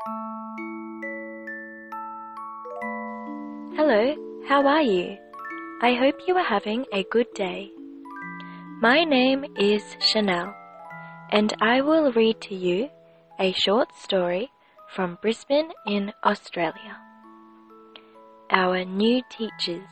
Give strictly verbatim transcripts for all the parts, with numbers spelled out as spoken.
Hello, how are you? I hope you are having a good day. My name is Chanel, and I will read to you a short story from Brisbane in Australia. Our new teachers.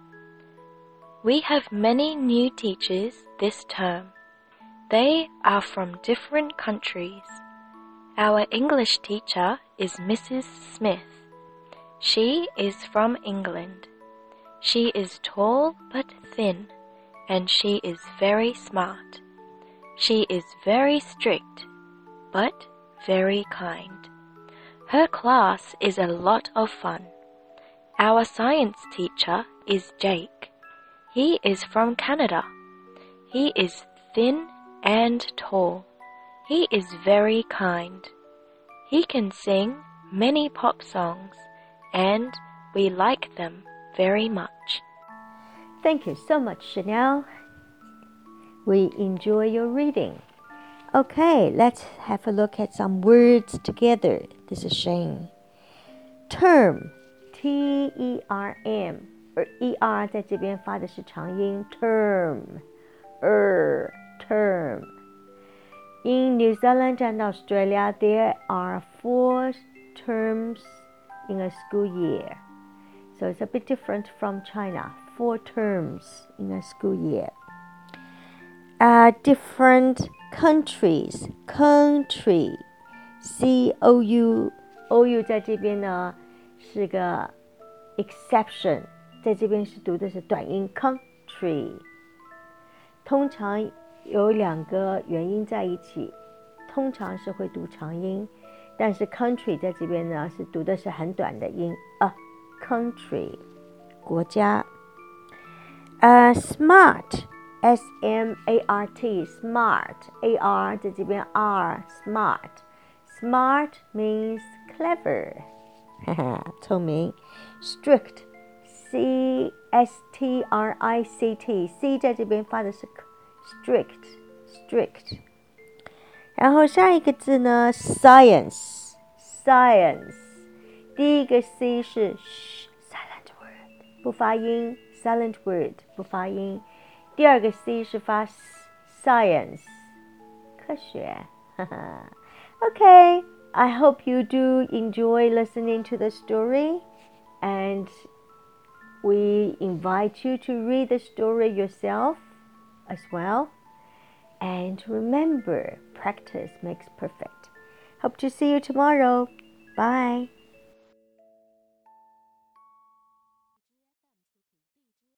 We have many new teachers this term. They are from different countries. Our English teacher is Missus Smith. She is from England. She is tall but thin, and she is very smart. She is very strict, but very kind. Her class is a lot of fun. Our science teacher is Jake. He is from Canada. He is thin and tall. He is very kind. He can sing many pop songs, and we like them very much. Thank you so much, Chanel. We enjoy your reading. Okay, let's have a look at some words together. This is Shane. Term, T E R M, 而 E R 在这边发的是长音 term, er, term. In New Zealand and Australia, there are four terms in a school year. So it's a bit different from China. Four terms in a school year. Uh, different countries. Country. C O U. O U 在这边呢是个 exception. 在这边是读的是短音 country. 通常有两个元音在一起，通常是会读长音。但是 country 在这边呢是读的是很短的音 a country 国家。呃、uh, smart S M A R T smart A R 在这边 R smart smart means clever 聪明。strict C S T R I C T C 在这边发的是 strict strict。然后下一个字呢 science science 第一个 C 是 silent word 不发音 silent word 不发音，第二个 C 是发 science 科学Okay, I hope you do enjoy listening to the story, and we invite you to read the story yourself as well.And remember, practice makes perfect. Hope to see you tomorrow. Bye.